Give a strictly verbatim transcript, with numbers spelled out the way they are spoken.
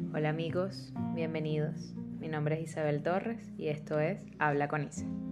Hola amigos, bienvenidos. Mi nombre es Isabel Torres y esto es Habla con Isa.